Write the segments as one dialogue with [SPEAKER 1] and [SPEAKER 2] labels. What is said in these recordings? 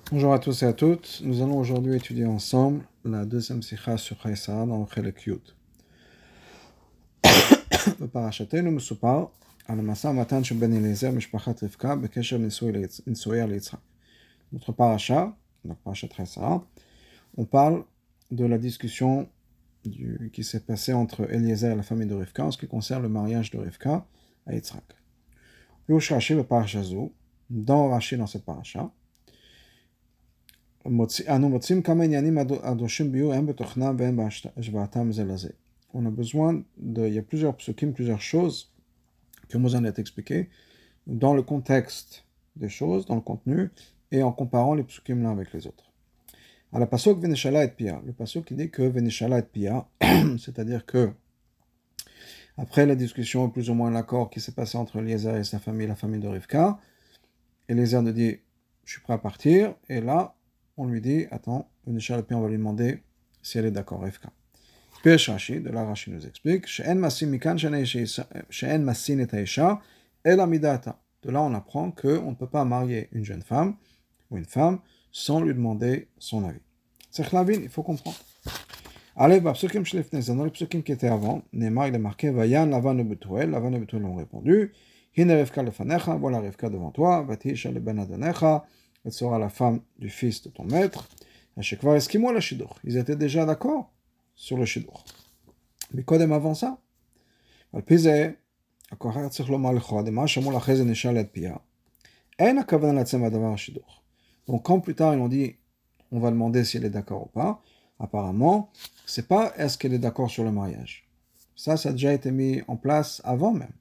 [SPEAKER 1] Bonjour à tous et à toutes. Nous allons aujourd'hui étudier ensemble la deuxième sikha sur Chaïsara dans le Chelek Yud. Le parachatenu מסופר על המשא ומתן של בן אליעזר משפחת רבקה בקשר לנישואיה ליצחק. Notre paracha, donc parachat Chaïsara, on parle de la discussion qui s'est passée entre Eliezer et la famille de Rivka en ce qui concerne le mariage de Rivka à Yitzhak. Puis Rashi le parachat Zou, dans Rashi dans cette paracha, on a besoin il y a plusieurs psukim, plusieurs choses que Moshe a expliquées dans le contexte des choses, dans le contenu, et en comparant les psukim l'un avec les autres. À la pasuk Veneshala et Pia, le pasuk qui dit que Veneshala et Pia, c'est-à-dire que après la discussion, plus ou moins l'accord qui s'est passé entre Eliezer et sa famille, la famille de Rivka, Eliezer nous dit je suis prêt à partir, et là on lui dit, attends, on va lui demander si elle est d'accord, Rivka. Pesh Rashi, de là Rashi nous explique, She'en masin et haisha, el amidata. De là on apprend qu'on ne peut pas marier une jeune femme ou une femme sans lui demander son avis. C'est Khlavin, il faut comprendre. Allez, dans les psukim qui étaient avant, Neymar il est marqué, Vayan Lavan et Betuel ont répondu, Hine Rivka lefanecha, voilà Rivka devant toi, Vatisha le ben adonecha, elle sera la femme du fils de ton maître. Ils étaient déjà d'accord sur le shidduch. Mais quand même avant ça, donc quand plus tard ils ont dit on va demander si elle est d'accord ou pas, apparemment c'est pas est-ce qu'elle est d'accord sur le mariage. Ça a déjà été mis en place avant même.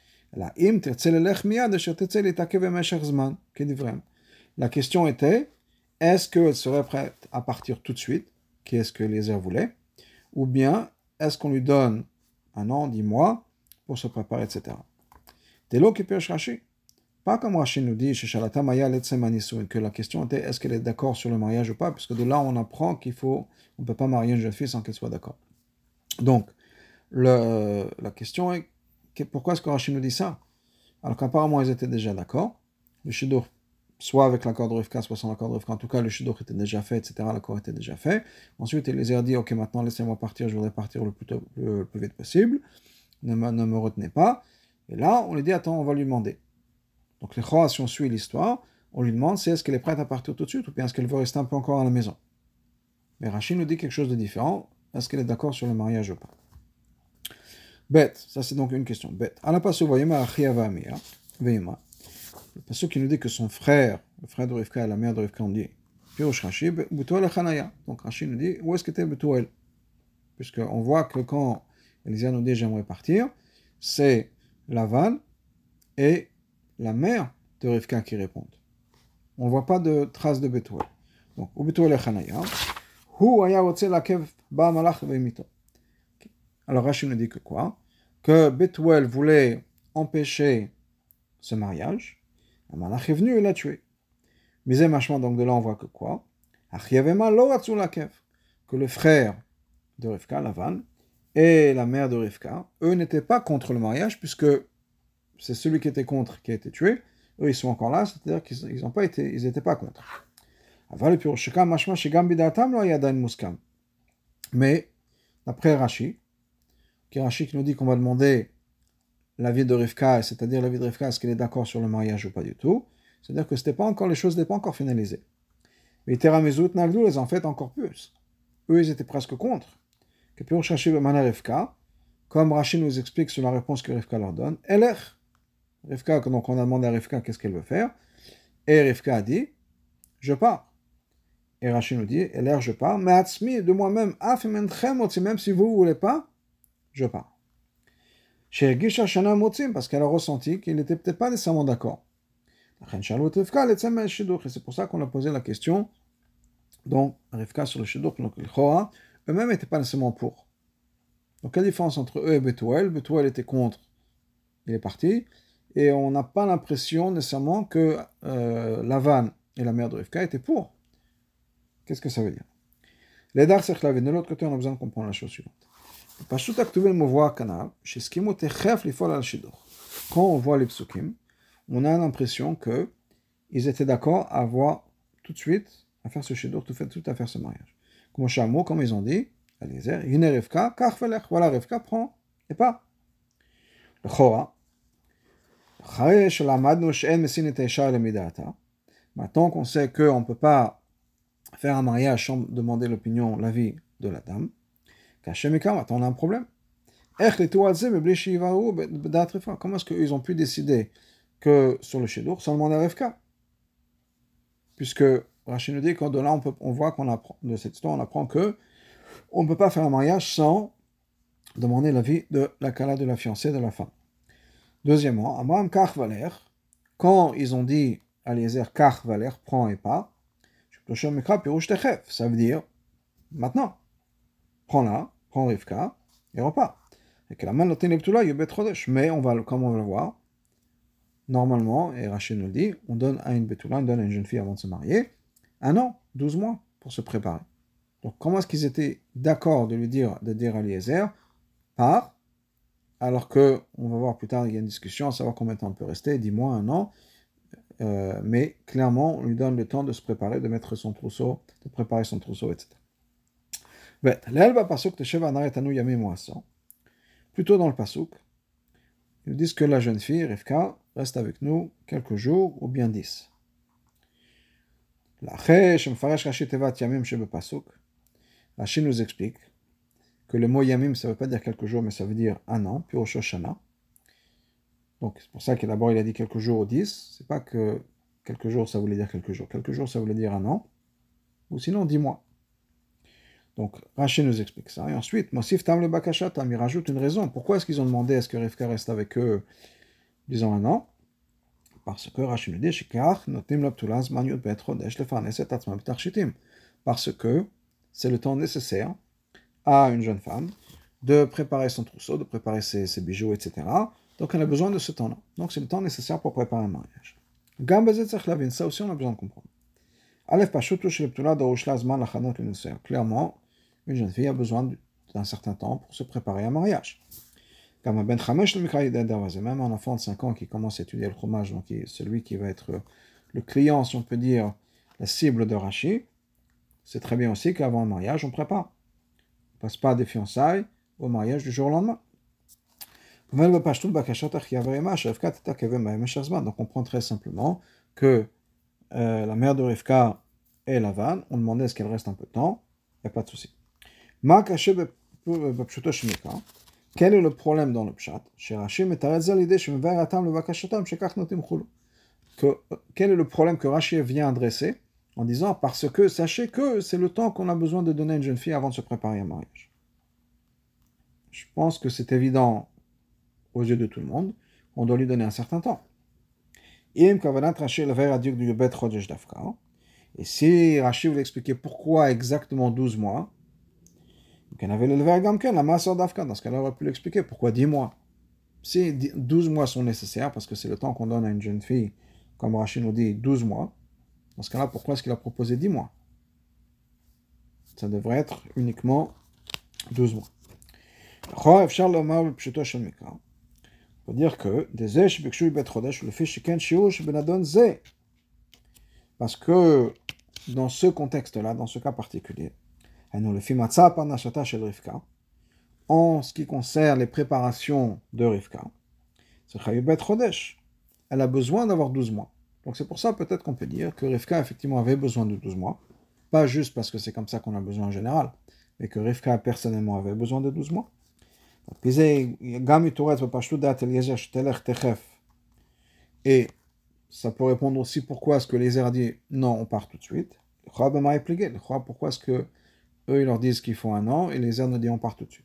[SPEAKER 1] La question était, est-ce qu'elle serait prête à partir tout de suite, qui est ce que Eliezer voulait, ou bien est-ce qu'on lui donne 1 an, 10 mois, pour se préparer, etc. Dès lors qu'il peut Rashi. Pas comme Rashi nous dit, que la question était, est-ce qu'elle est d'accord sur le mariage ou pas, parce que de là on apprend on ne peut pas marier une jeune fille sans qu'elle soit d'accord. Donc, la question est, pourquoi est-ce que Rashi nous dit ça? Alors qu'apparemment ils étaient déjà d'accord, le shidduch, soit avec l'accord de Rivka, soit sans l'accord de Rivka, en tout cas le shidduch était déjà fait, etc., l'accord était déjà fait. Ensuite Eliezer a dit, ok, maintenant laissez-moi partir, je voudrais partir le plus vite possible, ne me retenez pas. Et là, on lui dit, attends, on va lui demander. Donc les Chora, si on suit l'histoire, on lui demande, est-ce qu'elle est prête à partir tout de suite, ou bien est-ce qu'elle veut rester un peu encore à la maison. Mais Rashi nous dit quelque chose de différent, est-ce qu'elle est d'accord sur le mariage ou pas. Bête, ça c'est donc une question. Bête. À la passe, voyez-moi, le passage qui nous dit que son frère, le frère de Rivka et la mère de Rivka, ont dit Pirosh Rashi, Betuel Chanaya. Donc Rashi nous dit où est-ce qu'était Betuel? Puisqu'on voit que quand Eliezer nous dit j'aimerais partir, c'est Lavan et la mère de Rivka qui répondent. On ne voit pas de traces de Betuel. Donc, ou Betuel Chanaya, Hu aya otse lakev ba malach veimito. Alors Rashi nous dit que quoi? Que Betuel voulait empêcher ce mariage. Un malach est venu et l'a tué. Mais donc de là on voit que quoi? Que le frère de Rivka, Lavan, et la mère de Rivka, eux n'étaient pas contre le mariage, puisque c'est celui qui était contre qui a été tué. Eux ils sont encore là, c'est-à-dire qu'ils n'étaient pas contre. Mais d'après Rashi qui nous dit qu'on va demander l'avis de Rivka, c'est-à-dire l'avis de Rivka, est-ce qu'elle est d'accord sur le mariage ou pas du tout? C'est-à-dire que les choses n'étaient pas encore finalisées. Mais Teramezut Nagdou les en fait encore plus. Eux, ils étaient presque contre. Que pour chercher Mana Rivka, comme Rashi nous explique sur la réponse que Rivka leur donne, Eler. Rivka, donc on a demandé à Rivka qu'est-ce qu'elle veut faire. Et Rivka a dit, je pars. Et Rashi nous dit, Eler, je pars, mais Atzmi, de moi-même, même si vous ne voulez pas, je pars. Chez Gisha Shana Motzim, parce qu'elle a ressenti qu'il n'était peut-être pas nécessairement d'accord. Et c'est pour ça qu'on a posé la question, donc Rivka sur le shidduch, donc les Chora, eux-mêmes n'étaient pas nécessairement pour. Donc quelle différence entre eux et Betuel? Betuel était contre, il est parti, et on n'a pas l'impression nécessairement que Lavan et la mère de Rivka étaient pour. Qu'est-ce que ça veut dire? Les dar de l'autre côté, on a besoin de comprendre la chose suivante. Quand on voit les psukim, on a l'impression qu'ils étaient d'accord à avoir tout de suite à faire ce shidduch, tout à faire ce mariage. Comme ils ont dit, Eliezer, Yine Rivka, kach velech, voilà, Rivka prend et pas. Le Chora, maintenant qu'on sait qu'on ne peut pas faire un mariage sans demander l'opinion, l'avis de la dame, maintenant on a un problème. Comment est-ce qu'ils ont pu décider que sur le shidduch, sans demander à Rivka? Puisque Rachid nous dit que de là, on voit qu'on apprend, de cette histoire, on apprend que on ne peut pas faire un mariage sans demander l'avis de la kala, de la fiancée, de la femme. Deuxièmement, Amram Kach Valer, quand ils ont dit à Eliezer Kach Valer, prends et pas, ça veut dire maintenant, prends Rivka et repars. Et que la main mais on va, comme on va le voir, normalement, et Rachid nous le dit, on donne à une Betula, on donne à une jeune fille avant de se marier, 1 an, 12 mois pour se préparer. Donc comment est-ce qu'ils étaient d'accord de dire à Eliezer, pars, alors que, on va voir plus tard, il y a une discussion à savoir combien de temps on peut rester, 10 mois, 1 an, mais clairement, on lui donne le temps de se préparer, de mettre son trousseau, de préparer son trousseau, etc. Plutôt dans le pasuk, ils disent que la jeune fille, Rivka, reste avec nous quelques jours ou bien 10. Rashi nous explique que le mot yamim, ça ne veut pas dire quelques jours, mais ça veut dire 1 an, puis au Shoshana. Donc c'est pour ça que d'abord il a dit quelques jours ou 10. C'est pas que quelques jours ça voulait dire quelques jours. Quelques jours ça voulait dire 1 an, ou sinon 10 mois. Donc Rashi nous explique ça. Et ensuite, Mosif Tam le Bakashatam, il rajoute une raison. Pourquoi est-ce qu'ils ont demandé à ce que Rivka reste avec eux, disons 1 an? Parce que Rashi nous dit, parce que c'est le temps nécessaire à une jeune femme de préparer son trousseau, de préparer ses bijoux, etc. Donc elle a besoin de ce temps-là. Donc c'est le temps nécessaire pour préparer un mariage. Ça aussi on a besoin de comprendre. Clairement, une jeune fille a besoin d'un certain temps pour se préparer à un mariage. Même un enfant de 5 ans qui commence à étudier le chômage, donc celui qui va être le client, si on peut dire, la cible de Rashi, c'est très bien aussi qu'avant le mariage, on prépare. On ne passe pas des fiançailles au mariage du jour au lendemain. Donc on comprend très simplement que la mère de Rivka et Lavan ont demandé à ce qu'elle reste un peu de temps, il n'y a pas de souci. Quel est le problème dans le pshat? Quel est le problème que Rashi vient adresser en disant parce que sachez que c'est le temps qu'on a besoin de donner à une jeune fille avant de se préparer à un mariage. Je pense que c'est évident aux yeux de tout le monde, on doit lui donner un certain temps. Et si Rashi voulait expliquer pourquoi exactement 12 mois, dans ce cas-là, on aurait pu l'expliquer pourquoi 10 mois. Si 12 mois sont nécessaires, parce que c'est le temps qu'on donne à une jeune fille, comme Rashi nous dit, 12 mois, dans ce cas-là, pourquoi est-ce qu'il a proposé 10 mois? Ça devrait être uniquement 12 mois. On peut dire que parce que dans ce contexte-là, dans ce cas particulier, en ce qui concerne les préparations de Rivka, elle a besoin d'avoir 12 mois. Donc c'est pour ça peut-être qu'on peut dire que Rivka effectivement avait besoin de 12 mois, pas juste parce que c'est comme ça qu'on a besoin en général, mais que Rivka personnellement avait besoin de 12 mois. Et ça peut répondre aussi pourquoi est-ce que Eliezer a dit non, on part tout de suite. Pourquoi est-ce que eux ils leur disent qu'il faut 1 an et Eliezer nous dit on part tout de suite.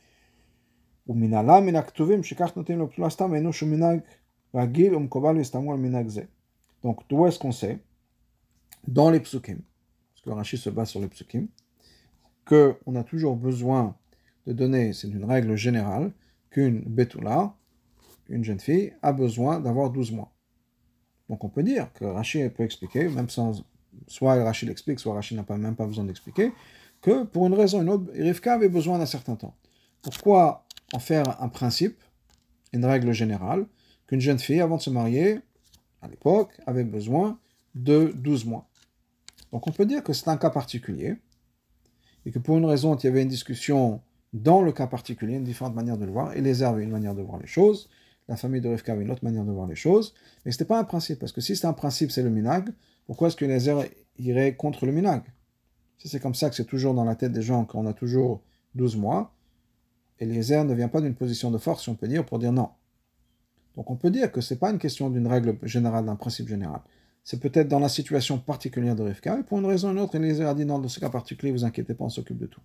[SPEAKER 1] Donc d'où est-ce qu'on sait dans les psukim, parce que Rashi se base sur les psukim, qu'on a toujours besoin de donner, c'est une règle générale, qu'une betula, une jeune fille, a besoin d'avoir 12 mois. Donc on peut dire que Rashi peut expliquer, même sans, soit Rashi l'explique, soit Rashi n'a même pas besoin d'expliquer, que pour une raison ou une autre, Rivka avait besoin d'un certain temps. Pourquoi en faire un principe, une règle générale, qu'une jeune fille, avant de se marier, à l'époque, avait besoin de 12 mois. Donc on peut dire que c'est un cas particulier, et que pour une raison, il y avait une discussion dans le cas particulier, une différente manière de le voir, et les avaient une manière de voir les choses, la famille de Rivka avait une autre manière de voir les choses, mais ce n'était pas un principe, parce que si c'est un principe, c'est le minag, pourquoi est-ce que les iraient contre le minag? C'est comme ça que c'est toujours dans la tête des gens, qu'on a toujours 12 mois, et les ne vient pas d'une position de force, si on peut dire, pour dire non. Donc on peut dire que ce n'est pas une question d'une règle générale, d'un principe général. C'est peut-être dans la situation particulière de Rivka, et pour une raison ou une autre, Eliezer a dit non, dans ce cas particulier, vous inquiétez pas, on s'occupe de tout.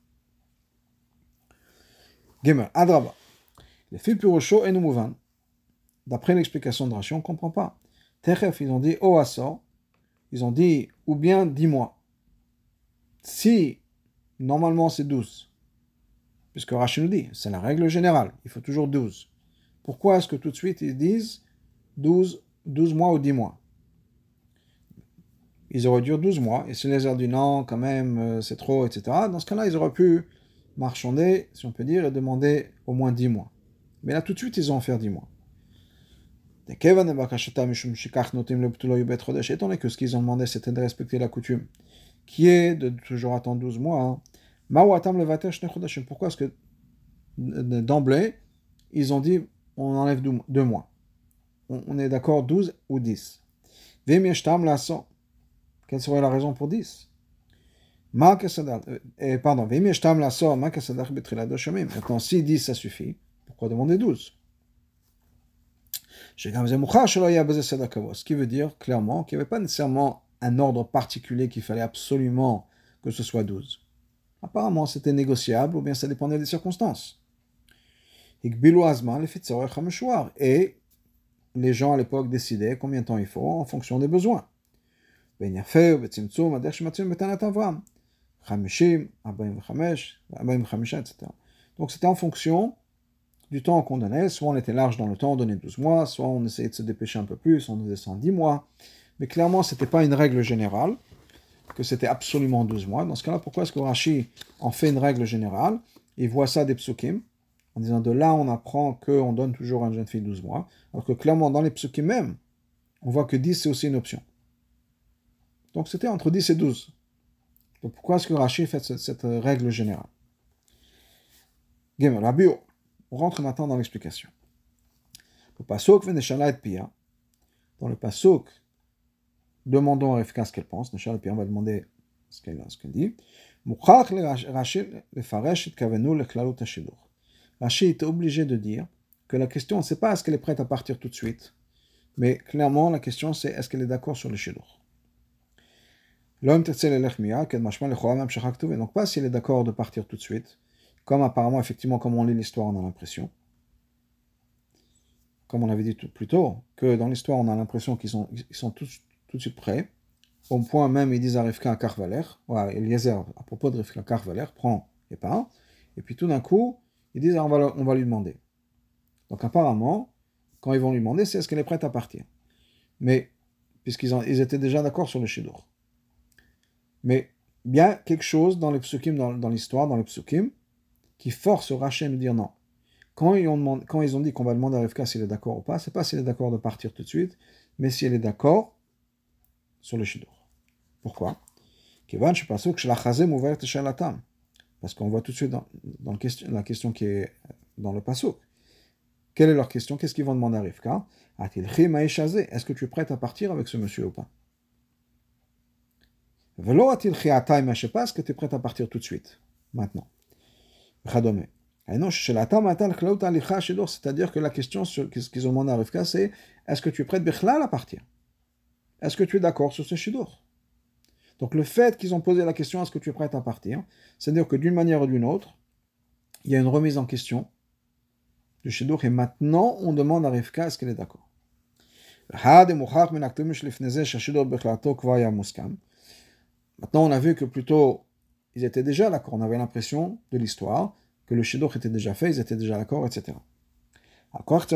[SPEAKER 1] Gemer, Adraba. Les filles Purosho et Numouvan. D'après l'explication de Rashi, on ne comprend pas. Techef, ils ont dit oh Assor, ils ont dit ou bien 10 mois. Si normalement c'est 12, puisque Rashi nous dit, c'est la règle générale, il faut toujours 12. Pourquoi est-ce que tout de suite ils disent 12 mois ou 10 mois? Ils auraient dû 12 mois, et si les ont dit non, quand même, c'est trop, etc. Dans ce cas-là, ils auraient pu marchander, si on peut dire, et demander au moins 10 mois. Mais là, tout de suite, ils ont offert 10 mois. Étant donné que ce qu'ils ont demandé, c'était de respecter la coutume, qui est de toujours attendre 12 mois. Pourquoi est-ce que d'emblée, ils ont dit on enlève 2 mois? On est d'accord 12 ou 10. Quelle serait la raison pour 10? Maintenant, si 10 ça suffit, pourquoi demander 12? Ce qui veut dire clairement qu'il n'y avait pas nécessairement un ordre particulier qu'il fallait absolument que ce soit 12. Apparemment, c'était négociable ou bien ça dépendait des circonstances. Et les gens à l'époque décidaient combien de temps il faut en fonction des besoins. Etc. Donc c'était en fonction du temps qu'on donnait. Soit on était large dans le temps, on donnait 12 mois, soit on essayait de se dépêcher un peu plus, on faisait 110 mois. Mais clairement, ce n'était pas une règle générale, que c'était absolument 12 mois. Dans ce cas-là, pourquoi est-ce que Rashi en fait une règle générale? Il voit ça des psukim, en disant de là, on apprend qu'on donne toujours à une jeune fille 12 mois, alors que clairement, dans les psukim même, on voit que 10, c'est aussi une option. Donc c'était entre 10 et 12. Donc pourquoi est-ce que Rashi fait cette règle générale? On rentre maintenant dans l'explication. Le pasuk Neshala et Pia. Dans le pasuk, demandons à Rivka ce qu'elle pense. Neshala et Pia, on va demander ce qu'elle dit. Rashi est obligé de dire que la question, c'est pas est-ce qu'elle est prête à partir tout de suite, mais clairement la question c'est est-ce qu'elle est d'accord sur le shidur. Donc pas si elle est d'accord de partir tout de suite, comme apparemment, effectivement, comme on lit l'histoire, on a l'impression, comme on avait dit plus tôt, que dans l'histoire, on a l'impression qu'ils sont tout de suite prêts, au point même, ils disent à Rivka Karvaler, ou à Eliezer, à propos de Rivka Karvaler, prends et pas, et puis tout d'un coup, ils disent on va lui demander. Donc apparemment, quand ils vont lui demander, c'est est-ce qu'elle est prête à partir. Mais, puisqu'ils étaient déjà d'accord sur le shidur. Mais il y a quelque chose dans les psukim, dans l'histoire, dans les psukim, qui force Rashi à nous dire non. Quand ils ont dit qu'on va demander à Rivka s'il est d'accord ou pas, c'est pas s'il est d'accord de partir tout de suite, mais si elle est d'accord sur le shidur. Pourquoi? Parce qu'on voit tout de suite dans la question qui est dans le pasuk. Quelle est leur question? Qu'est-ce qu'ils vont demander à Rivka? Est-ce que tu es prête à partir avec ce monsieur ou pas? Est-ce que tu es prête à partir tout de suite, maintenant? C'est-à-dire que la question qu'ils ont demandé à Rivka, c'est est-ce que tu es prête à partir? Est-ce que tu es d'accord sur ce shidur? Donc le fait qu'ils ont posé la question est-ce que tu es prête à partir, c'est-à-dire que d'une manière ou d'une autre, il y a une remise en question du shidur et maintenant on demande à Rivka est-ce qu'elle est d'accord. Maintenant, on a vu que plutôt, ils étaient déjà d'accord. On avait l'impression de l'histoire que le shidur était déjà fait, ils étaient déjà d'accord, etc. On est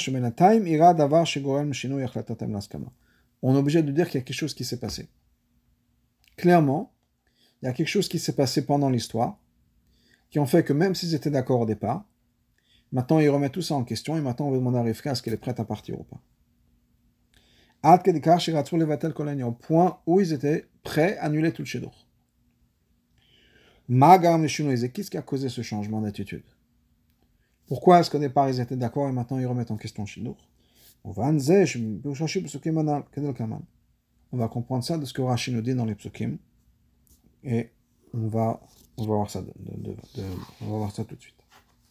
[SPEAKER 1] obligé de dire qu'il y a quelque chose qui s'est passé. Clairement, il y a quelque chose qui s'est passé pendant l'histoire qui ont fait que même s'ils étaient d'accord au départ, maintenant ils remettent tout ça en question et maintenant on va demander à Rivka est-ce qu'elle est prête à partir ou pas. Au point où ils étaient prêts à annuler tout le shidduch. Magam Neshunoïze, qu'est-ce qui a causé ce changement d'attitude? Pourquoi est-ce qu'au départ ils étaient d'accord et maintenant ils remettent en question le shidduch? On va comprendre ça de ce que Rashi nous dit dans les psukim et on va voir ça, on va voir ça tout de suite.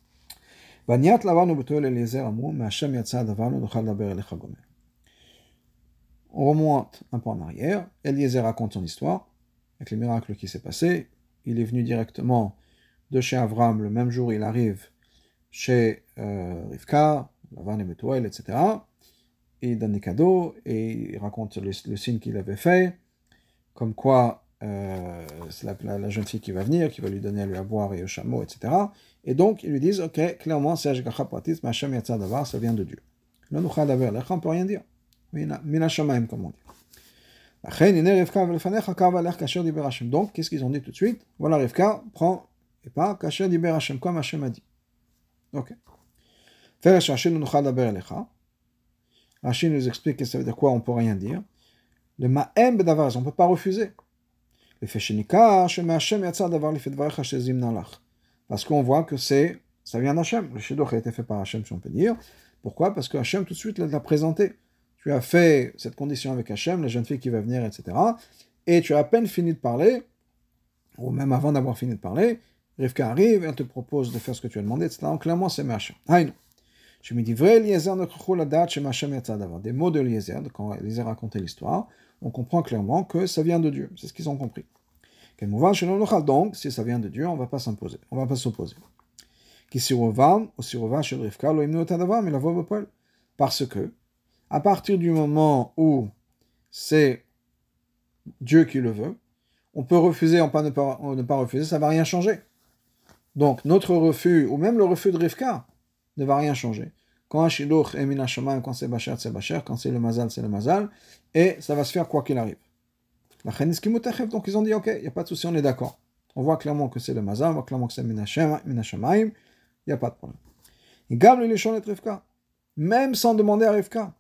[SPEAKER 1] On remonte un peu en arrière. Eliezer raconte son histoire avec les miracles qui s'est passé. Il est venu directement de chez Avram le même jour. Il arrive chez Rivka, Lavan et Betuel, etc. Et il donne des cadeaux et il raconte le signe qu'il avait fait, comme quoi c'est la jeune fille qui va venir, qui va lui donner à lui à boire et au chameau, etc. Et donc ils lui disent, ok, clairement c'est Ashgacha Pratis, mais Hashem Yatsa Davar, ça vient de Dieu. Là, on ne peut rien dire. Mina Shamaim, comme on dit. Donc, qu'est-ce qu'ils ont dit tout de suite? Voilà, Rivka prend et pas Kasher Diber Hashem, comme Hashem a dit. Ok. Rachid nous explique que ça veut dire quoi, on ne peut rien dire. Le ma'em bedavar, on ne peut pas refuser. Le feshenika, Hashem Hashem yatsa davar lifet varecha shezim nalach. Parce qu'on voit que ça vient d'Hashem. Le shidduch a été fait par Hashem, si on peut dire. Pourquoi? Parce que Hashem tout de suite l'a présenté. Tu as fait cette condition avec Hashem, la jeune fille qui va venir, etc. Et tu as à peine fini de parler, ou même avant d'avoir fini de parler, Rivka arrive, elle te propose de faire ce que tu as demandé, etc. Donc clairement, c'est Hashem. Haïnou. Je me dis, vrai, Eliezer ne croit la date chez Hashem yatsa davar. Des mots de Eliezer, quand Eliezer racontait l'histoire, on comprend clairement que ça vient de Dieu. C'est ce qu'ils ont compris. Donc, si ça vient de Dieu, on ne va pas s'imposer. On ne va pas s'opposer. Parce que, à partir du moment où c'est Dieu qui le veut, on peut refuser, on peut ne pas refuser, ça ne va rien changer. Donc, notre refus, ou même le refus de Rivka, ne va rien changer. Quand un shidduch est min hashamayim, quand c'est Bachar, quand c'est le mazal, c'est le mazal, et ça va se faire quoi qu'il arrive. Donc ils ont dit, ok, il n'y a pas de souci, on est d'accord. On voit clairement que c'est le mazal, on voit clairement que c'est min hashamayim, il n'y a pas de problème. Même sans demander à Rivka.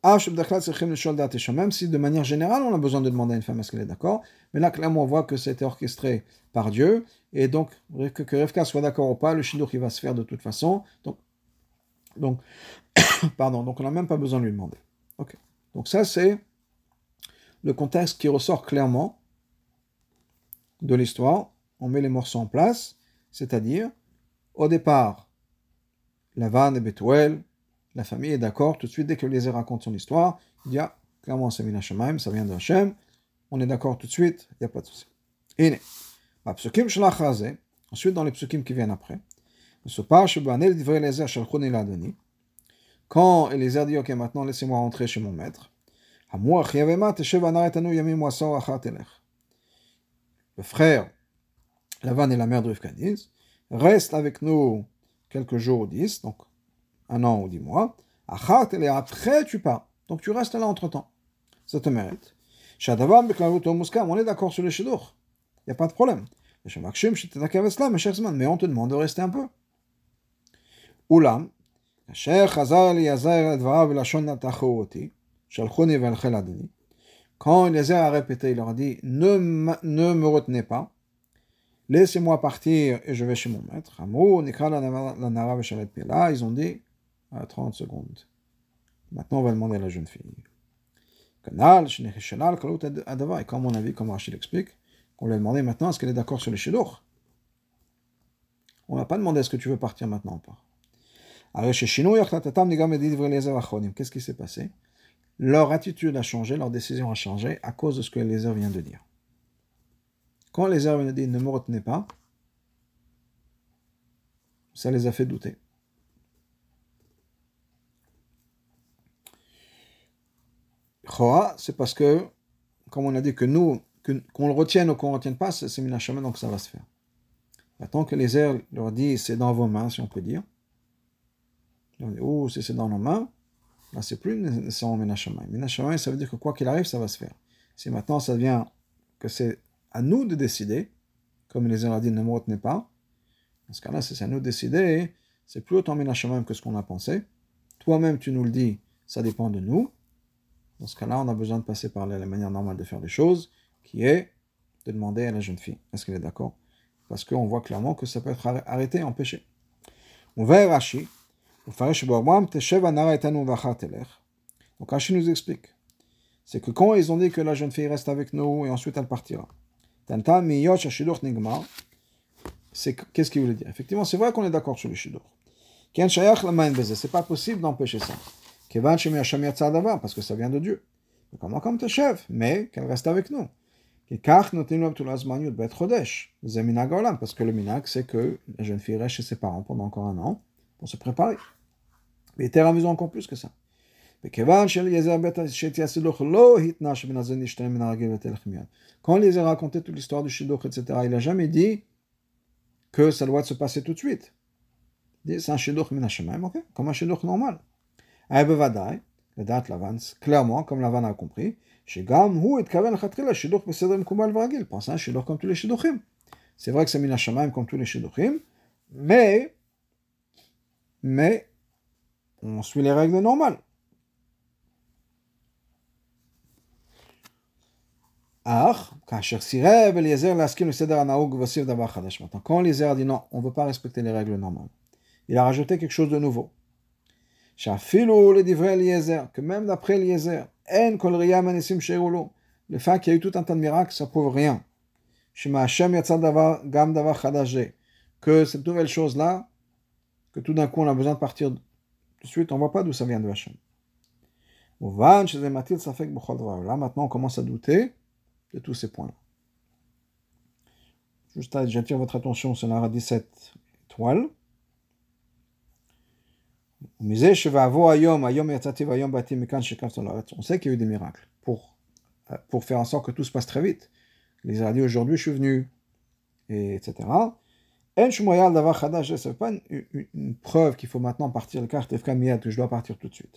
[SPEAKER 1] Même si de manière générale on a besoin de demander à une femme est-ce qu'elle est d'accord, mais là clairement on voit que c'était orchestré par Dieu, et donc que Rivka soit d'accord ou pas, le shidduch il va se faire de toute façon, donc pardon, donc on n'a même pas besoin de lui demander. Okay. Donc ça c'est le contexte qui ressort clairement de l'histoire. On met les morceaux en place, c'est-à-dire au départ, Lavan et Betuel, la famille est d'accord, tout de suite dès que Eliezer raconte son histoire, il dit clairement c'est min hashamayim, ça vient de Hashem, on est d'accord tout de suite, il n'y a pas de souci. Et ensuite dans les psukim qui viennent après, quand Eliezer dit ok maintenant laissez-moi rentrer chez mon maître, le frère Lavan et la mère de Rivka disent reste avec nous quelques jours ou 10, donc 1 an ou 10 mois, et après tu pars. Donc tu restes là entre-temps. Ça te mérite. On est d'accord sur le shidduch. Il n'y a pas de problème. Mais on te demande de rester un peu. Oulam, quand Eliezer a répété, il leur a dit ne me retenez pas, laissez-moi partir et je vais chez mon maître. Ils ont dit 30 secondes. Maintenant, on va demander à la jeune fille. Et comme on a vu, comme Rachid l'explique, on lui a demandé maintenant est-ce qu'elle est d'accord sur le shidduch. On n'a pas demandé est-ce que tu veux partir maintenant ou pas. Qu'est-ce qui s'est passé? Leur attitude a changé, leur décision a changé à cause de ce que Eliezer vient de dire. Quand Eliezer vient de dire ne me retenez pas, ça les a fait douter. Choa, c'est parce que, comme on a dit que nous, qu'on le retienne ou qu'on ne retienne pas, c'est min hashamayim, donc ça va se faire. Maintenant que Eliezer leur dit c'est dans vos mains, si on peut dire, on dit oh, si c'est dans nos mains, là c'est plus nécessairement min hashamayim. Min hashamayim, ça veut dire que quoi qu'il arrive, ça va se faire. Si maintenant ça devient que c'est à nous de décider, comme Eliezer a dit ne me retenez pas, dans ce cas-là, si c'est à nous de décider, c'est plus autant min hashamayim que ce qu'on a pensé. Toi-même, tu nous le dis, ça dépend de nous. Dans ce cas-là, on a besoin de passer par la manière normale de faire les choses qui est de demander à la jeune fille, est-ce qu'elle est d'accord? Parce qu'on voit clairement que ça peut être arrêté, empêché. On va Rashi, donc Rashi nous explique, c'est que quand ils ont dit que la jeune fille reste avec nous et ensuite elle partira, qu'est-ce qu'il voulait dire? Effectivement, c'est vrai qu'on est d'accord sur le shidur. C'est pas possible d'empêcher ça. Parce que ça vient de Dieu. Mais qu'elle reste avec nous. Parce que le minag, c'est que la jeune fille reste chez ses parents pendant encore un an pour se préparer. Mais il était amusant encore plus que ça. Quand Eliezer a raconté toute l'histoire du shidduch, etc., il n'a jamais dit que ça doit se passer tout de suite. C'est un shidduch min hashamayim, ok? Comme un shidduch normal. Aïbevadai, la date Lavan, clairement, comme Lavan a compris, Shegam hu et kaven chatchila shidduch besedr mekubal v'ragil. Pense à un shidduch comme tous les shidduchim. C'est vrai que c'est min hashamayim comme tous les shidduchim, mais on suit les règles normales. Quand Eliezer a dit non, on ne veut pas respecter les règles normales, il a rajouté quelque chose de nouveau. Que même d'après Eliezer, le fait qu'il y a eu tout un tas de miracles, ça prouve rien. Que cette nouvelle chose-là, que tout d'un coup on a besoin de partir tout de suite, on ne voit pas d'où ça vient de Hachem. Là, maintenant on commence à douter de tous ces points-là. Juste, j'attire votre attention sur la 17 étoiles. On sait qu'il y a eu des miracles pour faire en sorte que tout se passe très vite. Les a dit aujourd'hui je suis venu, etc. Ce n'est pas une preuve qu'il faut maintenant partir le carte que je dois partir tout de suite.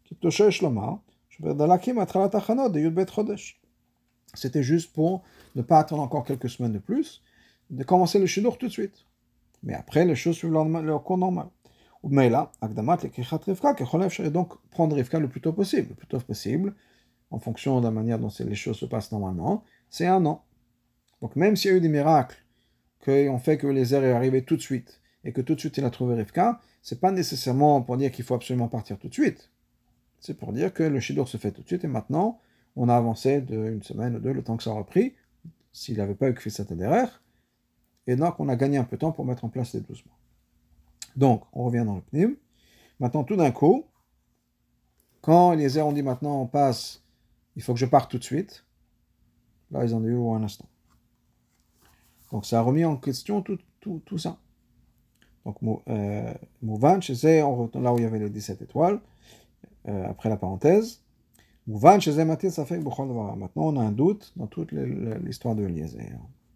[SPEAKER 1] C'était juste pour ne pas attendre encore quelques semaines de plus, de commencer le shidduch tout de suite. Mais après, les choses suivent leur cours normal. Mais là, donc prendre Rivka le plus tôt possible. Le plus tôt possible, en fonction de la manière dont les choses se passent normalement, c'est un an. Donc même s'il y a eu des miracles qui ont fait que Eliezer est arrivé tout de suite, et que tout de suite il a trouvé Rivka, c'est pas nécessairement pour dire qu'il faut absolument partir tout de suite. C'est pour dire que le shidduch se fait tout de suite, et maintenant, on a avancé d'une semaine ou deux, le temps que ça a repris, s'il n'avait pas eu que cette derrière, et donc on a gagné un peu de temps pour mettre en place les 12 mois. Donc, on revient dans le pnim. Maintenant, tout d'un coup, quand Eliezer ont dit maintenant on passe, il faut que je parte tout de suite, là ils ont dit un instant. Donc ça a remis en question tout ça. Donc, Mouvan, là où il y avait les 17 étoiles, après la parenthèse, Mouvan, maintenant on a un doute dans toute l'histoire de Eliezer.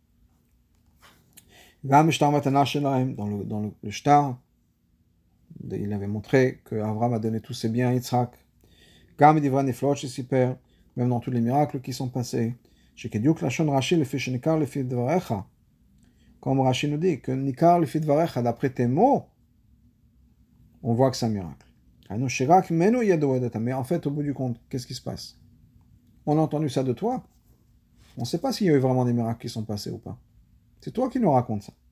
[SPEAKER 1] Dans le shtar, il avait montré que Abraham a donné tous ses biens à Yitzhak. Même dans tous les miracles qui sont passés. Comme Rashi nous dit, que Nikar le fit varecha, d'après tes mots, on voit que c'est un miracle. Mais en fait, au bout du compte, qu'est-ce qui se passe? On a entendu ça de toi. On ne sait pas s'il y a eu vraiment des miracles qui sont passés ou pas. C'est toi qui nous racontes ça.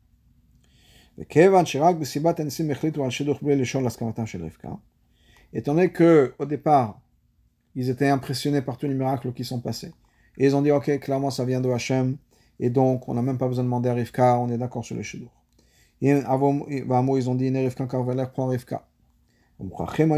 [SPEAKER 1] Étant donné qu'au départ, ils étaient impressionnés par tous les miracles qui sont passés, et ils ont dit, ok, clairement ça vient de Hachem, et donc on n'a même pas besoin de demander à Rivka, on est d'accord sur le shidduch. Et ils ont dit, Rivka Karveler prend Rivka. Maintenant,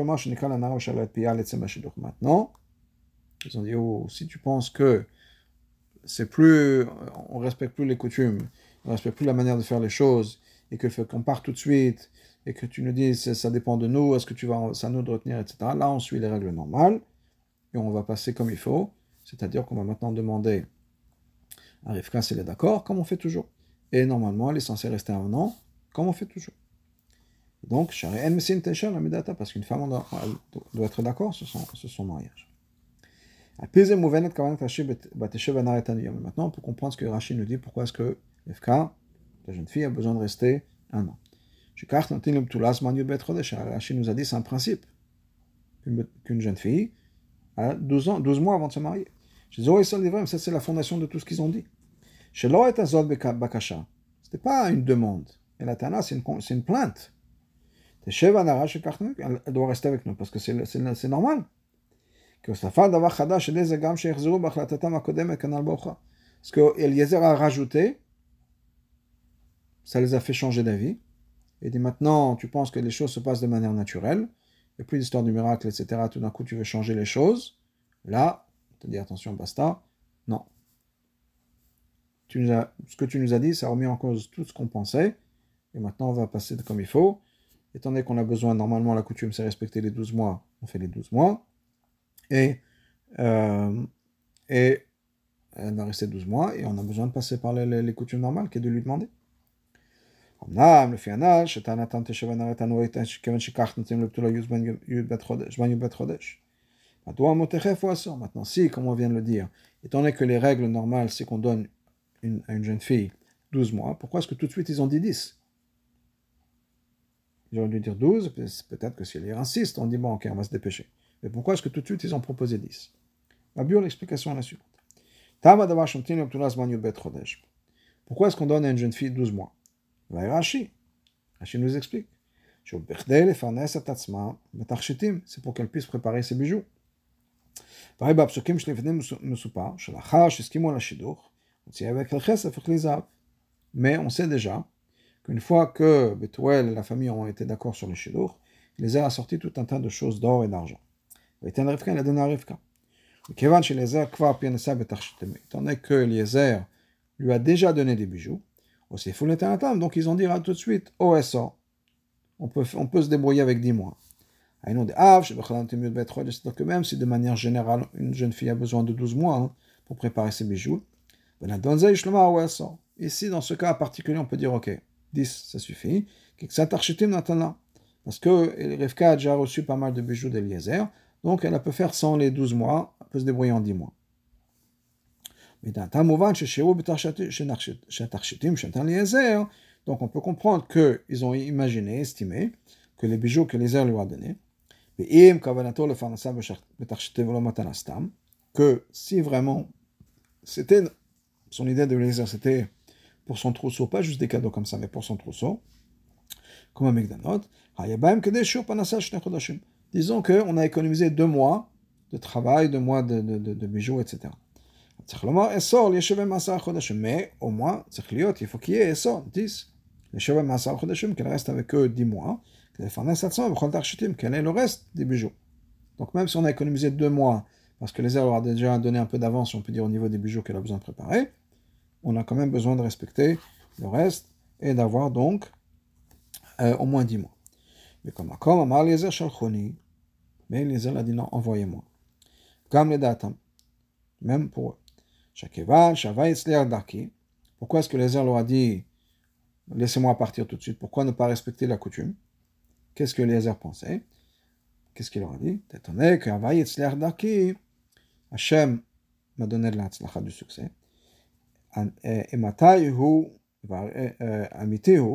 [SPEAKER 1] ils ont dit, oh, si tu penses que c'est plus, on respecte plus les coutumes, on respecte plus la manière de faire les choses, et que le fait qu'on part tout de suite, et que tu nous dis ça dépend de nous, est-ce que c'est à nous de retenir, etc. Là, on suit les règles normales, et on va passer comme il faut, c'est-à-dire qu'on va maintenant demander à Rivka si elle est d'accord, comme on fait toujours. Et normalement, elle est censée rester un an, comme on fait toujours. Donc, parce qu'une femme doit être d'accord sur son mariage. Maintenant, on peut comprendre ce que Rashi nous dit, pourquoi est-ce que Rivka, la jeune fille, a besoin de rester un an. Rashi nous a dit, c'est un principe, qu'une jeune fille a 12 mois avant de se marier. Chez Zoé Sol ça c'est la fondation de tout ce qu'ils ont dit. Chez Loet Azot Bakasha, c'était pas une demande. Et la Tana, c'est une plainte. Elle doit rester avec nous parce que c'est normal. Parce que Eliezer a rajouté, ça les a fait changer d'avis. Et dit maintenant, tu penses que les choses se passent de manière naturelle, il n'y a plus d'histoire du miracle, etc. Tout d'un coup, tu veux changer les choses. Là, on te dit attention, basta. Non. Ce que tu nous as dit, ça a remis en cause tout ce qu'on pensait. Et maintenant, on va passer comme il faut. Étant donné qu'on a besoin, normalement, la coutume, c'est respecter les 12 mois, on fait les 12 mois. Et elle va rester 12 mois, et on a besoin de passer par les coutumes normales, qui est de lui demander. Maintenant, si, comme on vient de le dire, étant donné que les règles normales, c'est qu'on donne à une jeune fille 12 mois, pourquoi est-ce que tout de suite ils ont dit 10? Ils auraient dû dire 12, peut-être que si elle insiste, on dit bon, ok, on va se dépêcher. Mais pourquoi est-ce que tout de suite ils ont proposé 10? La bio, l'explication est la suivante. Pourquoi est-ce qu'on donne à une jeune fille 12 mois? Rashi nous explique. C'est pour qu'elle puisse préparer ses bijoux. Mais on sait déjà qu'une fois que Bethuel et la famille ont été d'accord sur le shidur, il les a assorti tout un tas de choses d'or et d'argent. Il a donné à Rivka. Étant donné que Eliezer lui a déjà donné des bijoux, donc ils ont dit tout de suite, OSO, on peut se débrouiller avec 10 mois. C'est-à-dire que même si de manière générale, une jeune fille a besoin de 12 mois pour préparer ses bijoux, ici, dans ce cas particulier, on peut dire, ok, 10, ça suffit. Parce que Rivka a déjà reçu pas mal de bijoux d'Eliezer, donc elle peut faire sans les 12 mois, elle peut se débrouiller en 10 mois. Donc on peut comprendre qu'ils ont imaginé, estimé, que les bijoux que Eliezer lui a donnés, que si vraiment c'était son idée de Eliezer, c'était pour son trousseau, pas juste des cadeaux comme ça, mais pour son trousseau, comme un Megdanot, disons qu'on a économisé 2 mois de travail, 2 mois de bijoux, etc. Mais au moins, il faut qu'il y ait Essor, 10. Qu'elle reste avec eux 10 mois, qu'elle ait le reste des bijoux. Donc même si on a économisé 2 mois, parce que les leur a déjà donné un peu d'avance, on peut dire au niveau des bijoux qu'elle a besoin de préparer, on a quand même besoin de respecter le reste et d'avoir donc au moins 10 mois. Mais comme Amar Eliezer Shalchoni, mais Eliezer a dit non, envoyez-moi. Comme les datam, même pour eux. Pourquoi est-ce que Eliezer leur a dit laissez-moi partir tout de suite? Pourquoi ne pas respecter la coutume? Qu'est-ce que Eliezer pensait? Qu'est-ce qu'il leur a dit? Étonné que Hachem m'a donné de l'Hatzlacha du succès. Et Matayhu Amitihu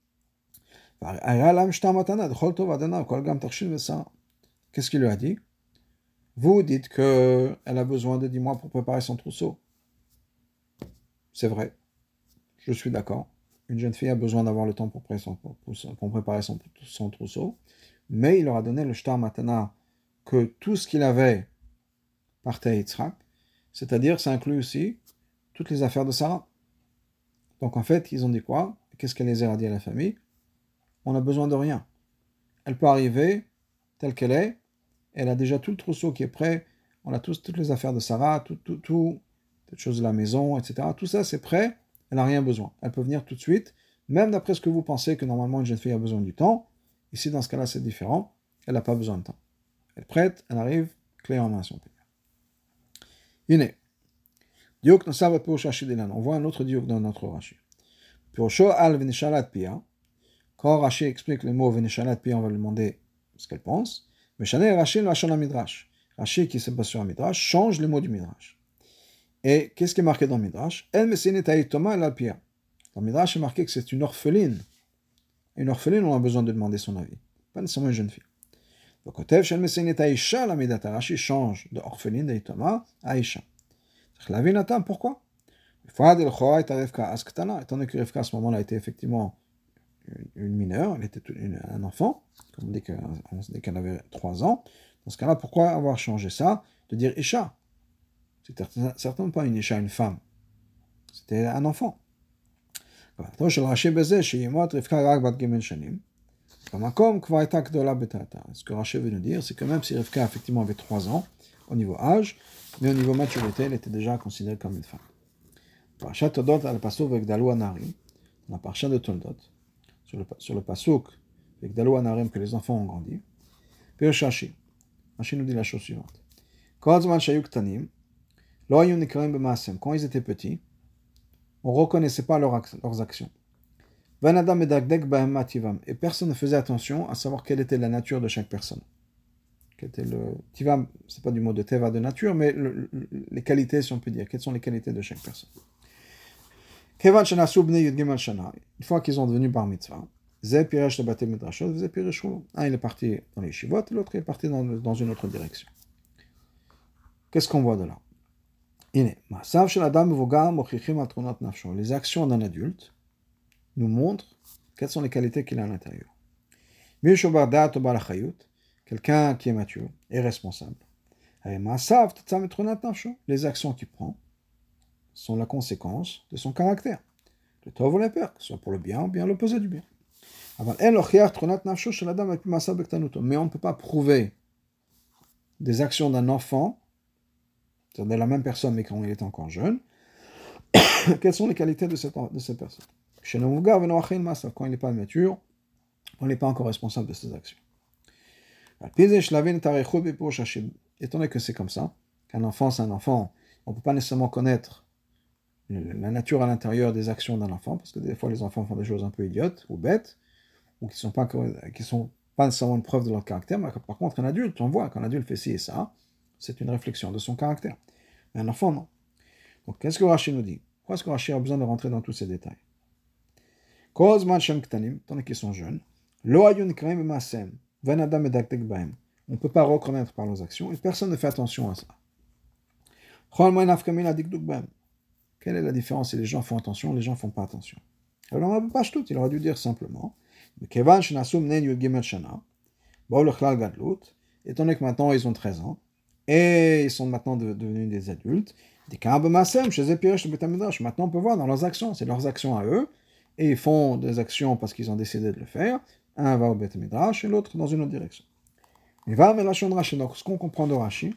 [SPEAKER 1] Qu'est-ce qu'il lui a dit? Vous dites qu'elle a besoin de 10 mois pour préparer son trousseau. C'est vrai. Je suis d'accord. Une jeune fille a besoin d'avoir le temps pour préparer son trousseau. Mais il leur a donné le shtar matana que tout ce qu'il avait partait à Yitzhak. C'est-à-dire, ça inclut aussi toutes les affaires de Sarah. Donc en fait, ils ont dit quoi? Qu'est-ce qu'Eliezer a dit à la famille? On n'a besoin de rien. Elle peut arriver telle qu'elle est. Elle a déjà tout le trousseau qui est prêt. On a toutes les affaires de Sarah, toutes choses de la maison, etc. Tout ça, c'est prêt. Elle n'a rien besoin. Elle peut venir tout de suite. Même d'après ce que vous pensez que normalement une jeune fille a besoin du temps. Ici, dans ce cas-là, c'est différent. Elle n'a pas besoin de temps. Elle est prête, elle arrive, clé en main, si on peut dire. Iné. Diok Nosava Pirosha Shidilan. On voit un autre diok dans notre Rashi. Pirosho al Venishalat Pia. Quand Rashi explique le mot Venishalat Pia, on va lui demander ce qu'elle pense. Mais Shane Rashi Lashon Midrash. Rashi qui se base sur un Midrash change les mots du Midrash. Et qu'est-ce qui est marqué dans le Midrash? El Messinet Aïtoma El Alpia. Dans le Midrash, c'est marqué que c'est une orpheline. Une orpheline, on a besoin de demander son avis. Pas nécessairement une jeune fille. Le Kotev Shel Messinet Aïcha, la Midat Rashi change de orpheline d'Aïtoma à Aïcha. Pourquoi? Étant donné que Rivka à ce moment-là était effectivement une mineure, elle était un enfant, comme on dit qu'elle avait 3 ans. Dans ce cas-là, pourquoi avoir changé ça de dire Isha? C'était certainement pas une Isha, une femme. C'était un enfant. Ce que Rashi veut nous dire, c'est que même si Rivka effectivement avait 3 ans au niveau âge, mais au niveau maturité, elle était déjà considérée comme une femme. Parashat Toldot al pasuk vegdalu anarim, la parasha de Toldot, sur le pasuk vegdalu anarim que les enfants ont grandi. Puis Rashi nous dit la chose suivante. Quand ils étaient petits, on ne reconnaissait pas leurs actions. Et personne ne faisait attention à savoir quelle était la nature de chaque personne. Tivam, ce n'est pas du mot de teva de nature, mais les qualités, si on peut dire. Quelles sont les qualités de chaque personne? Une fois qu'ils sont devenus bar mitzvah, un il est parti dans les shivot, l'autre est parti dans une autre direction. Qu'est-ce qu'on voit de là? Les actions d'un adulte nous montrent quelles sont les qualités qu'il a à l'intérieur. Quelqu'un qui est mature et responsable. Les actions qu'il prend sont la conséquence de son caractère. Le tov ou la peur, que ce soit pour le bien ou bien l'opposé du bien. Mais on ne peut pas prouver des actions d'un enfant, c'est-à-dire de la même personne mais quand il est encore jeune, quelles sont les qualités de cette personne. Quand il n'est pas mature, on n'est pas encore responsable de ses actions. Étant donné que c'est comme ça, qu'un enfant c'est un enfant, on ne peut pas nécessairement connaître la nature à l'intérieur des actions d'un enfant, parce que des fois les enfants font des choses un peu idiotes ou bêtes, ou qui sont pas nécessairement une preuve de leur caractère, mais par contre un adulte, on voit qu'un adulte fait ci et ça, c'est une réflexion de son caractère. Mais un enfant, non. Donc qu'est-ce que Rashi nous dit? Pourquoi est-ce que Rashi a besoin de rentrer dans tous ces détails? Tant qu'ils sont jeunes, on ne peut pas reconnaître par leurs actions, et personne ne fait attention à ça. Quelle est la différence si les gens font attention, les gens ne font pas attention? Alors on ne peut pas tout, il aurait dû dire simplement, étant donné que maintenant ils ont 13 ans, et ils sont maintenant devenus des adultes, maintenant on peut voir dans leurs actions, c'est leurs actions à eux, et ils font des actions parce qu'ils ont décidé de le faire, un va au Beth Midrash et l'autre dans une autre direction. Mais donc ce qu'on comprend de Rashi,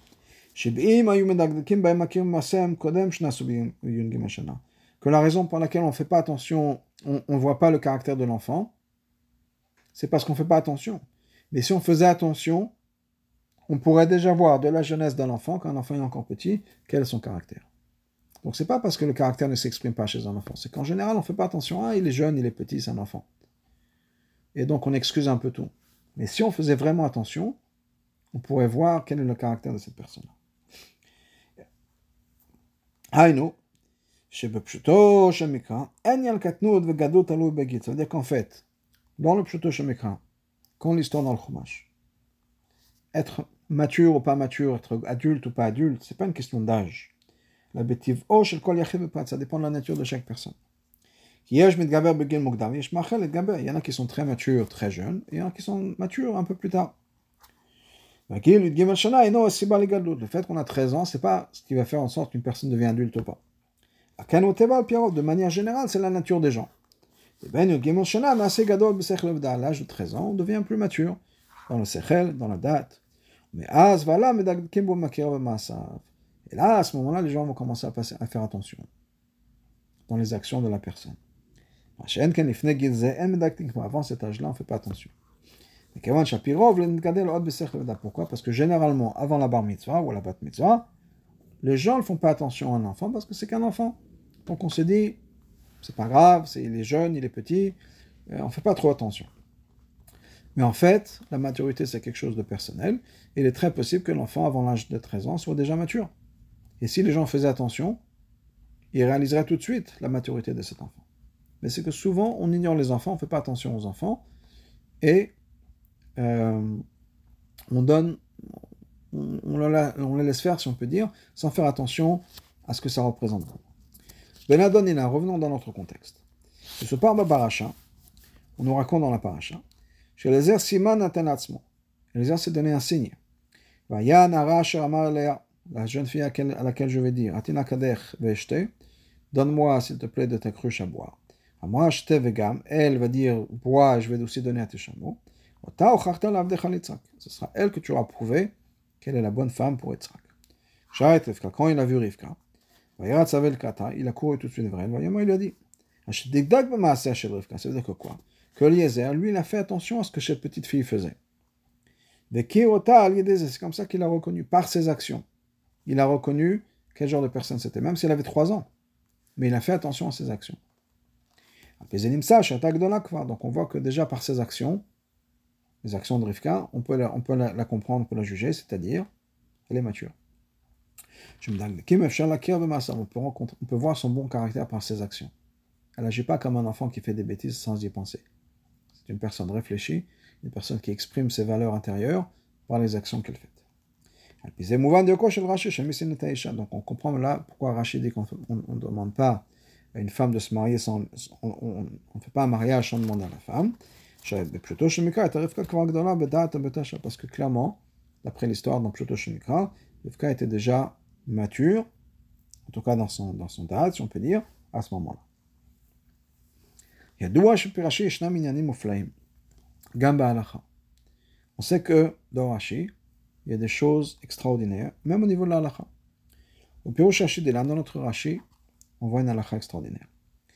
[SPEAKER 1] que la raison pour laquelle on ne fait pas attention, on ne voit pas le caractère de l'enfant, c'est parce qu'on ne fait pas attention. Mais si on faisait attention, on pourrait déjà voir de la jeunesse d'un enfant, quand un enfant est encore petit, quel est son caractère. Donc c'est pas parce que le caractère ne s'exprime pas chez un enfant, c'est qu'en général on ne fait pas attention, il est jeune, il est petit, c'est un enfant. Et donc on excuse un peu tout. Mais si on faisait vraiment attention, on pourrait voir quel est le caractère de cette personne. Haïno, ça veut dire qu'en fait, dans le Pshuto Shemikra, quand l'histoire dans le Chumash, être mature ou pas mature, être adulte ou pas adulte, c'est pas une question d'âge. La bétive ça dépend de la nature de chaque personne. Il y en a qui sont très matures, très jeunes, et il y en a qui sont matures un peu plus tard. Le fait qu'on a 13 ans, c'est pas ce qui va faire en sorte qu'une personne devient adulte ou pas. De manière générale, c'est la nature des gens. À l'âge de 13 ans, on devient plus mature, dans le sechel, dans la date. Mais et là, à ce moment-là, les gens vont commencer à faire attention dans les actions de la personne. Avant cet âge-là, on ne fait pas attention. Pourquoi? Parce que généralement, avant la bar mitzvah ou la bat mitzvah, les gens ne font pas attention à un enfant parce que c'est qu'un enfant. Donc on se dit, c'est pas grave, il est jeune, il est petit, on ne fait pas trop attention. Mais en fait, la maturité, c'est quelque chose de personnel. Et il est très possible que l'enfant, avant l'âge de 13 ans, soit déjà mature. Et si les gens faisaient attention, ils réaliseraient tout de suite la maturité de cet enfant. Mais c'est que souvent, on ignore les enfants, on ne fait pas attention aux enfants, et on les laisse faire, si on peut dire, sans faire attention à ce que ça représente. Ben Adonina, revenons dans notre contexte. De ce parle paracha, on nous raconte dans la paracha, chez Eliezer Siman Natan Atzmo. Eliezer s'est donné un signe. Vayan Ara Asher Amar Elea, la jeune fille à laquelle je vais dire, Atina Kadech Ve'eshte, donne-moi s'il te plaît de ta cruche à boire. Amra Shte Vegam, elle va dire, bois, je vais aussi donner à tes chameaux. Ota Ochachta Lavdecha Litzrak, ce sera elle que tu auras prouvé qu'elle est la bonne femme pour Yitzhak. Sharet Rivka, quand il a vu Rivka, Vayarat Savel Kata, il a couru tout de suite vers elle, Vayama, il lui a dit, Ashdigdag B'maaseh Shel Rivka, ça veut dire que quoi? Que Eliezer, lui, il a fait attention à ce que cette petite fille faisait. C'est comme ça qu'il a reconnu, par ses actions. Il a reconnu quel genre de personne c'était, même s'il avait 3 ans. Mais il a fait attention à ses actions. Donc on voit que déjà par ses actions, les actions de Rivka, on peut la comprendre, on peut la juger, c'est-à-dire, elle est mature. On peut voir son bon caractère par ses actions. Elle n'agit pas comme un enfant qui fait des bêtises sans y penser. C'est une personne réfléchie, une personne qui exprime ses valeurs intérieures par les actions qu'elle fait. Donc on comprend là pourquoi Rachid dit qu'on ne demande pas à une femme de se marier sans... On ne fait pas un mariage sans demander à la femme. Parce que clairement, d'après l'histoire dans Pshuto Shemikra, Rivka était déjà mature, en tout cas dans son date, si on peut dire, à ce moment-là. On sait que dans Rashi, il y a des choses extraordinaires, même au niveau de la halakha. Au Pirush Rashi de dans notre Rashi, on voit une halakha extraordinaire.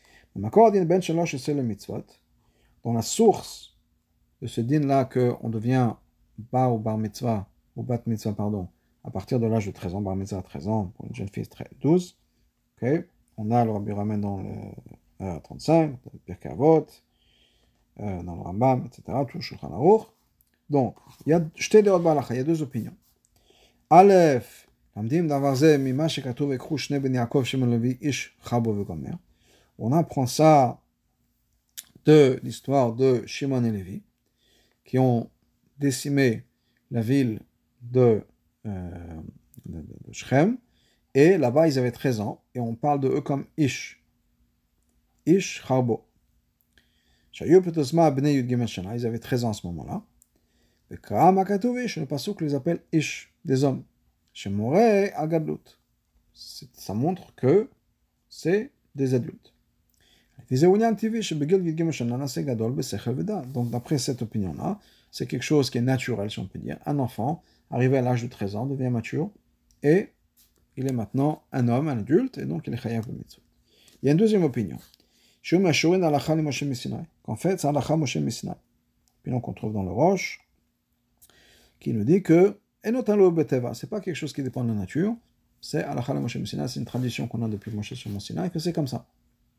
[SPEAKER 1] Dans la source de ce din-là qu'on devient bar ou bar mitzvah, ou bat mitzvah, pardon, à partir de l'âge de 13 ans, bar mitzvah à 13 ans, pour une jeune fille 12, okay. On a le Rabbi Ramen dans le 35, dans le Pirkei Avot, dans le Rambam, etc., tout le Shulchan Aruch. Donc, il y a il y a 2 opinions. Aleph, on apprend ça de l'histoire de Shimon et Lévi, qui ont décimé la ville de Shechem, et là-bas ils avaient 13 ans, et on parle de eux comme Ish Charbo. Ils avaient 13 ans à ce moment-là. Le pasuk les appelle Ish, des hommes. Ça montre que c'est des adultes. Donc d'après cette opinion-là, c'est quelque chose qui est naturel, si on peut dire. Un enfant, arrivé à l'âge de 13 ans, devient mature, et il est maintenant un homme, un adulte, et donc il est chayav le mitzvot. Il y a une deuxième opinion. Qu'en fait, c'est halakha Moshe Missinai. Puis donc on trouve dans le Roche, qui nous dit que c'est pas quelque chose qui dépend de la nature, c'est halakha Moshe Missinai, c'est une tradition qu'on a depuis Moshe sur Mont Sinaï, que c'est comme ça.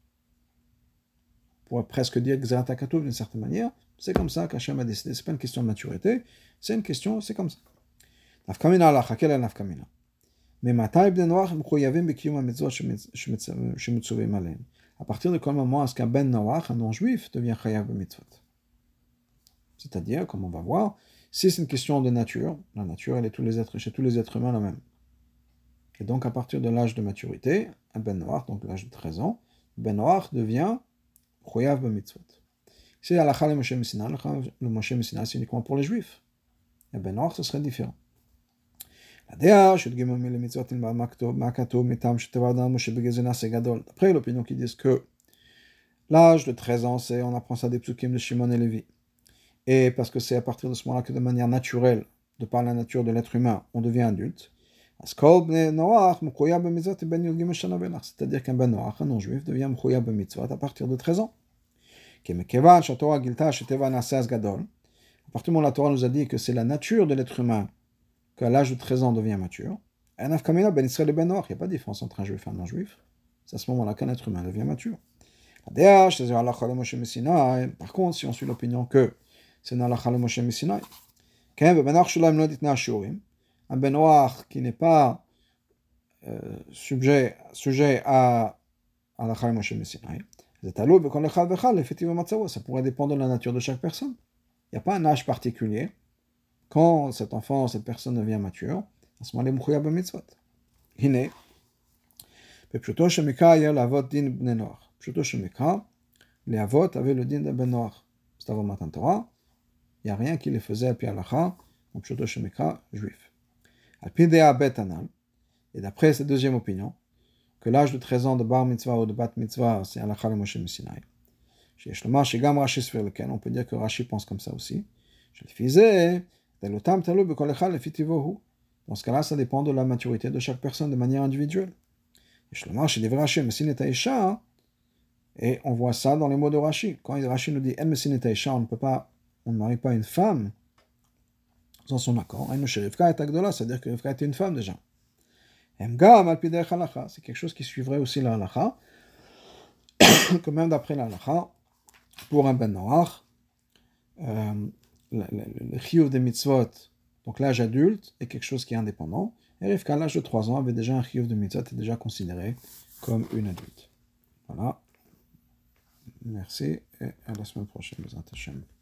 [SPEAKER 1] On pourrait presque dire Gzerat HaKatuv d'une certaine manière, c'est comme ça qu'Hachem a décidé, c'est pas une question de maturité, c'est une question, c'est comme ça. Nafkamina halakha, quelle est la nafkamina? Mais matai bnei noach mechuyavim b'kiyum ha-mitzvot shemutzuvim aleim. À partir de quel moment est-ce qu'un ben noach, un non-juif, devient chayav b'mitzvot? C'est-à-dire, comme on va voir, si c'est une question de nature, la nature, elle est chez tous les êtres humains la même. Et donc, à partir de l'âge de maturité, un ben noach, donc l'âge de 13 ans, ben noach devient chayav b'mitzvot. Si halakha le Moshe Missinai, le Moshe Missinai, c'est uniquement pour les juifs. Et ben noach, ce serait différent. D'après l'opinion qui dit que l'âge de 13 ans, c'est on apprend ça des psukim de Shimon et Lévi. Et parce que c'est à partir de ce moment-là que de manière naturelle, de par la nature de l'être humain, on devient adulte. C'est-à-dire qu'un ben noach, un non-juif, devient mchoyab b'mitzvot à partir de 13 ans. À partir du moment où la Torah nous a dit que c'est la nature de l'être humain qu'à l'âge de 13 ans devient mature, il n'y a pas de différence entre un juif et un non-juif. C'est à ce moment-là qu'un être humain devient mature. Par contre, si on suit l'opinion que c'est une halakha le Moshe Missinai, un ben noach qui n'est pas sujet à halakha le Moshe Missinai, ça pourrait dépendre de la nature de chaque personne. Il n'y a pas un âge particulier. Quand cette personne devient mature, à ce moment-là, il est mouchouya b'mitzvot. Pepshuto Shemika, il y a l'avot din bnei noach. Pepshuto Shemika, les avot avaient le din de ben noach. C'est avant Matan Torah. Il n'y a rien qui les faisait à pi halacha, donc Pepshuto Shemika, juif. Al pi dea bet anal. Et d'après cette deuxième opinion, que l'âge de 13 ans de bar mitzvah ou de bat mitzvah, c'est halacha le Moshe Messinaï. Chez Shlomar, chez Gam Rashi Sfer lequel, on peut dire que Rashi pense comme ça aussi. Je le faisais, Delotam Talou Bekolechal Lefitivohu. Dans ce cas-là, ça dépend de la maturité de chaque personne de manière individuelle. Et Shlomar, chez Devra Rashi, Messin et Aisha, et on voit ça dans les mots de Rashi. Quand Rashi nous dit En Messin et Aisha, on ne marie pas une femme sans son accord. En chez Rivka et Agdola, c'est-à-dire que Rivka était une femme déjà. Emgam Alpidech Halacha, c'est quelque chose qui suivrait aussi la Halacha, que même d'après la Halacha, pour un ben noach, le chiyuv des mitzvot, donc l'âge adulte, est quelque chose qui est indépendant. Et Rivka, à l'âge de 3 ans, avait déjà un chiyuv de mitzvot, est déjà considéré comme une adulte. Voilà. Merci et à la semaine prochaine, Bezrat Hashem.